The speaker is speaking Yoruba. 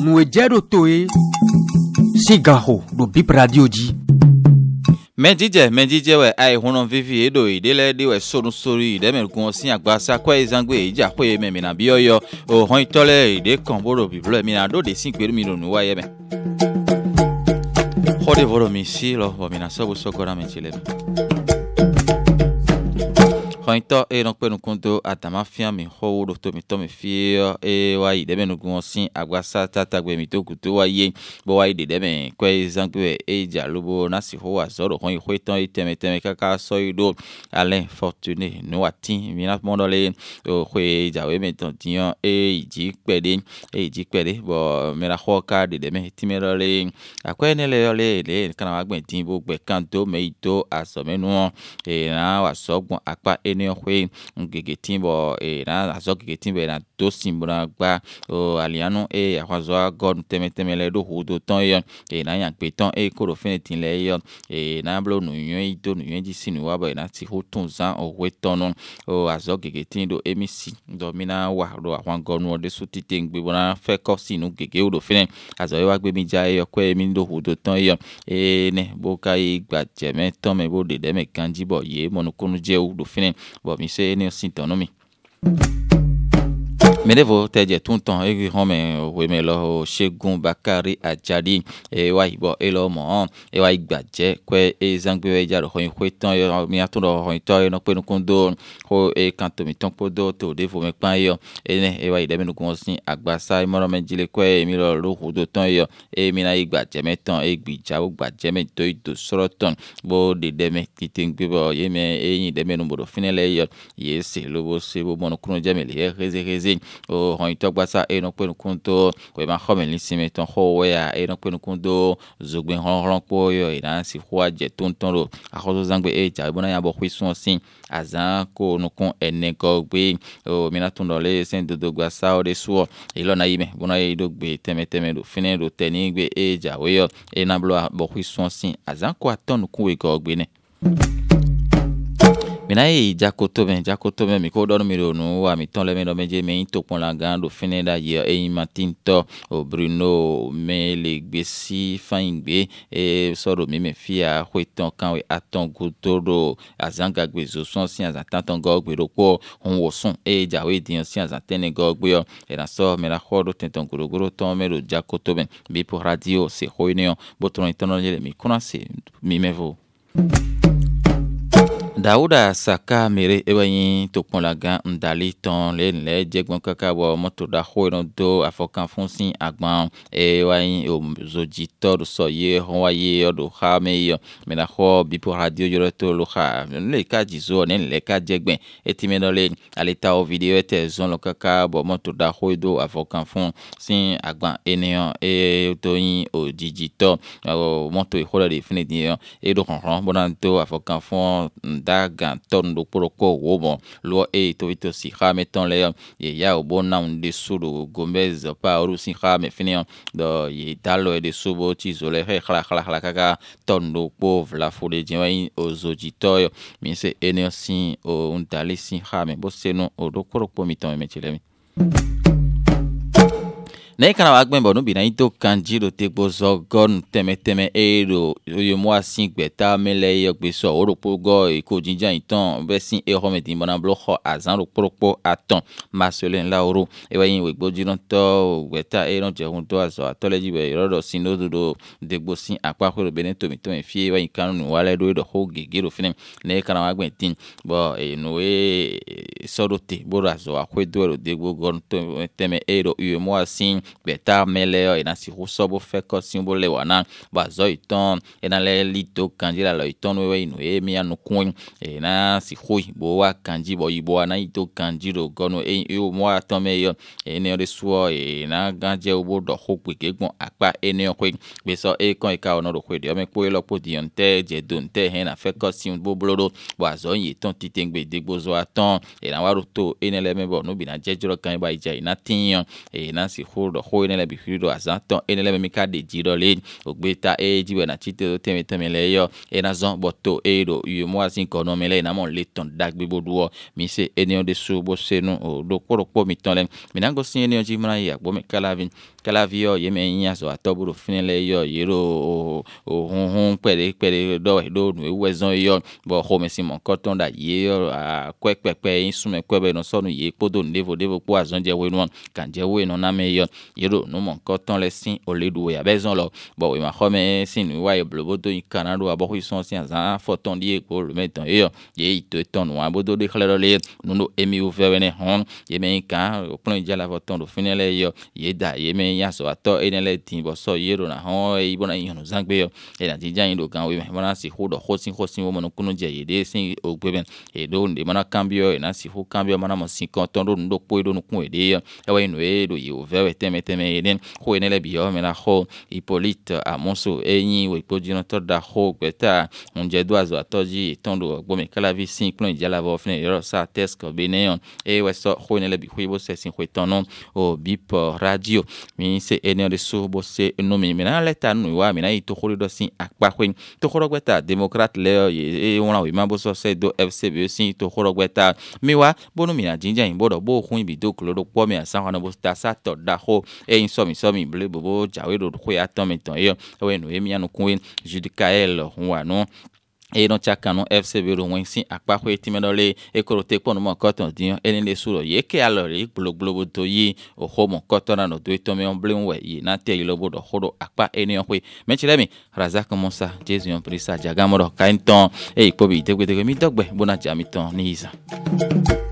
nuejero toe sigaho do bip radio di Mendije we ai hono vivi edo idele de we sonu sori de me gun sin agbasa kwa izangbe ija kwe me na bioyo o hon tole ide konboro biblo mi na do de sin peru mi no nu wa ye me hode voro mi si lo bo mi na so bu sokora me chile Hointo e non penu kunto atama fia mi ho do to mi fia e wa ide me no gun sin agbasa tata gbe mi to kuto wa ye bo wa ide de me kwe zangbe e ja lobo na si ho wa zoro hon hweton iteme kaka so ido Alain Fortuné no atin mi na mo dole o hwe ja we me ton tian e iji pede bo mi ra ho ka de me ti me dole akwe ne le kana wa gben tin bo gbe kanto me ito asomenu e na wa sogbon apa eni hwe ngege timbo e na azogege timbe na to simbra gba o alianu e akwazo god teme le do hudo ton yo e na yan pe ton e ko ro finitin le yo e na blo nu yun ito nu yun ji sinu wa ba na ti ho tun zan o we ton o azogege tindo emisi do mina wa do akwan gonu o de suti tengbe bona fe ko sinu gege o do finin azo wa gbe mi ja e yo ko emi do hudo ton yo e ne bo kai gba jeme ton me bo de me kanji bo ye monokunu je o do finin bo mi se ne sintonomi Menevo teje tunton e home we me lo Segun Bakari Ajadi e wa ibo e lo mo e wa igbaje kwe e zangbe we jaro ho hweton yo mi atun ro ho to no penu kundo ho e kanto mi ton podo to de fo me pan yo e ne e wa ide menu kun sin agbasa e moro menjile kwe mi lo ro hudo ton yo e mi na igbaje meton e gbija o gbaje me to ido soroton bo de me kitin gbe bo ye me e yin de menu bodo finele yo ye se lo bo se bo mono kuno je me le reze o hon itogbasa e no penu kunto we ma khome lisime ton ho we ya e no penu kunto zogben hon po yo e na si ho aje tonton ro akhozo zangbe e ja bona ya bo khwisun sin azan ko no kon ene ko gbe o mina tun dole sen dodo gbasa o de suo e lo na yime bona e do gbe teme do finen do teni gbe e ja we yo e na blo bo khwisun sin azan ko aton ku we ko gbe ne Minae jakoto me mi ko do mi ronu wa mi ton le me do meje me to pon la gando fineda ye e matinto o Bruno me le gbesi faingbe e soro mi me fia hweton kan we aton gutoro azanga gbezo son si azatan go gbero po hon wo sun e jawe dian si azatene go gbe yo e na so me la khodo tenton goro ton me lo jakoto me bi pour radio c'est hoineo botron itono le mi konase mi mevo Dauda Saka mere ewanyi to pon lagan ndali ton le jegbon kaka bo moto da ho no do afokan fonsin agban ewanyi o zojito so ye hon wa ye odo ha me yo me na ho bi pour radio yo to lo ha le ka jizo ne le ka jegben etime no le aleta o video ete zon lo kaka bo moto da ho do afokan fonsin agban eneon e to yin o jijito o moto e ho de finidi e do ron bonanto afokan fon gan ton do poroko wobo lo e to ito si ha meton le ye ya obona unde suru Gomez pa oru si ha me finion do ye dalo e de subo ti zole he khala kaka ton do pauvre la fode jin ozojito mi se enersi o untali si ha me bo seno o do poroko mi ton me chilemi Ne kana wagben bo no bi na ito kanjiro te bozo gon teme ero yo mo asin gbeta mele yo gbe so oropo go e ko jinja itan be sin e ho me tin bona blo ho azan ro propo aton masolen la oro e wa yin we gbojiran to gbeta e ran je hun to aso atoleji be rodo sin ododo de gbo sin apa ko be ne to mi to en fie wa yin kanu wale do ho gegero finem ne kana wagben tin bo e no e sorote bo aso akwedo ro de gbo gon to teme ero yo mo asin beta mele na si hosobo fe ko simbo le wana bazo iton na le lito kanji la lo iton we no e mi anu kun na si hoi bo wa kanji bo ibo na ito kanji ro gono o mo aton me yo ne o de suo na ganje obo do ho pe kegbon apa ene o pe be so e kon e ka ono ro pe de o me po lo po di onte je donte he na fe ko simbo blodo bazo yin ton titengbe de gbozo aton na wa ro to ene le me bo no bi na jejoro kan ba ija na tin na si ho do ho ene le bi do azanton ene le mi ka de jiro le ogbeta jiwe na chite teme le yo ena zon boto do yu mo asin kono mele na mon le ton dagbe boduo mi se ene de su bo se no do koro mi ton le mi nango sin ene ji mra ya bo me kalavio ye me nya so atoburu finele yo yero hun pere do nu wezon yo bo ho me sin mon koton da ye yo a kwekpepe insume kwebe no so nu ye podo devo po azon je we no kan je we no na me yo yero no mon koton le sin o le do ya bezon lo bo we ma ho me sin nu wa ye blobodo in kanado abo hu son sin azan foton die ko le meton yo ye ito ton wa bodo de klero le no emi ouvert ne hon ye me kan o plan ja la foton do finele yo ye da ye me nya so ato enele tin bo so yero na hon e bona yin no zangbe yo e na jinja yin do kan we me bona si ho do hosin wo mo no kunu je ye de sin ogbeben e do nde mana cambio e na si ho cambio mana mo sin kon ton do ndo po do no kun e de e we no e do ye ouvert teme eden ho enele bi yo me na ho Hippolyte Amonso e yin we po jino to da ho peta on je do azo atoji ton do gbo me kala vi sin plan ja la vo fne yo sa test ko beneyon e we so ho enele bi ho bo se sin ho ton non o bip radio mi se ene de so bo se no mi na leta nu wa mi na ito khori do sin akpa kwen to khoro gbeta democrat le e won la we ma bo so se do FCB sin to khoro gbeta mi wa bo no mi na jinja yin bo do bo khun bi do kloro po mi asan wana bo sta sa to da ho e yin so mi ble bo jawe do ko ya ton mi ton yo we no e mi anu kun Judicael wa no e don chaka no FCB ro wen sin akpa ko etimedole e korote pon mo koton din eni le suro ye ke alori gbogbo to yi o ho mo koton na no do to me on blin we yi na te lo bodo hodo akpa eni on kwe mechile mi Razak Monsa Jesu on prisa jagamoro kainton e ipobi tegwe mi dogbe bona jamiton ni isa